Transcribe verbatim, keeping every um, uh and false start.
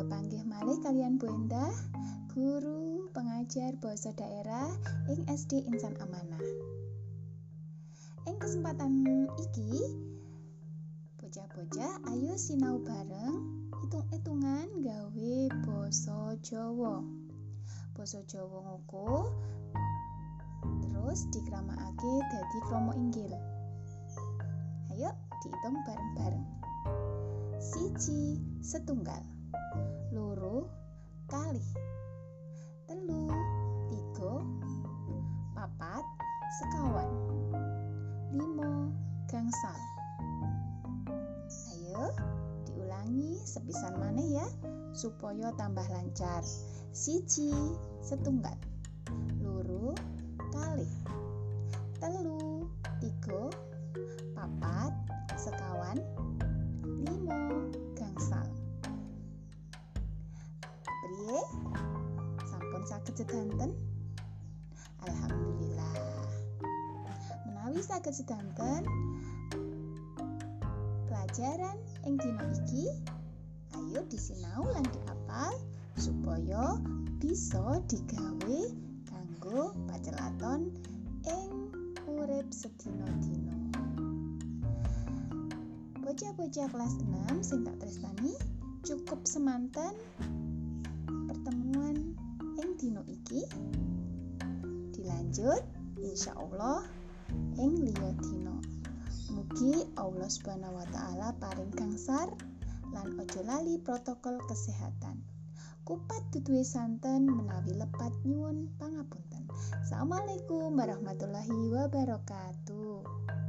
Kepanggih malih kalian Bu Endah, guru pengajar basa daerah ing S D Insan Amanah. Ing kesempatan iki, bocah-bocah ayo sinau bareng hitung-hitungan gawe basa Jawa. Basa Jawa ngoko terus dikramakake dadi krama inggil. Ayo diitung bareng-bareng. Siji setunggal, loro kalih, telu tiga, papat sekawan, limo gangsal. Ayo diulangi sepisan maneh ya supaya tambah lancar. Siji setunggal, loro kalih, telu tiga, papat sekawan, limo gangsal. Priye? Sampun saged sedanten? Alhamdulillah. Menawi saged sedanten, pelajaran ing dina iki ayo disinau lan diapal supaya bisa digawe kanggo pacelaton ing urip sedina-dina. Bocah-bocah kelas enam sing tak tresnani, cukup semanten pertemuan ing dina iki. Dilanjut insyaallah ing liya dina. Mugi Allah Subhanahu wa taala paring gangsar lan aja lali protokol kesehatan. Kupat duduhe santen menawi lepat nyuwun pangapunten. Assalamualaikum warahmatullahi wabarakatuh.